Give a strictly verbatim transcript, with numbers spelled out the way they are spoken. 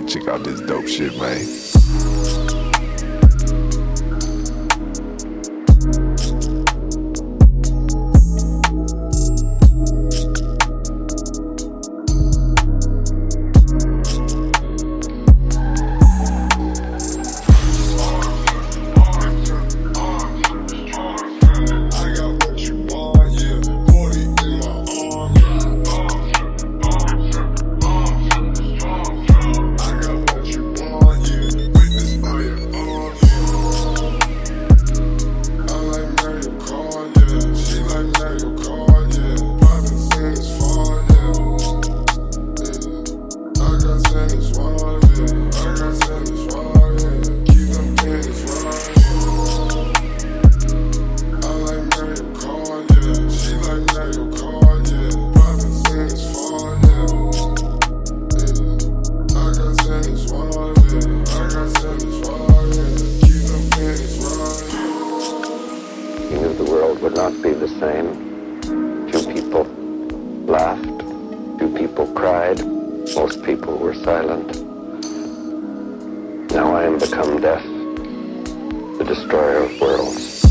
Check out this dope shit, man. He knew the world would not be the same. Few people laughed, few people cried, most people were silent. Now I am become death, the destroyer of worlds.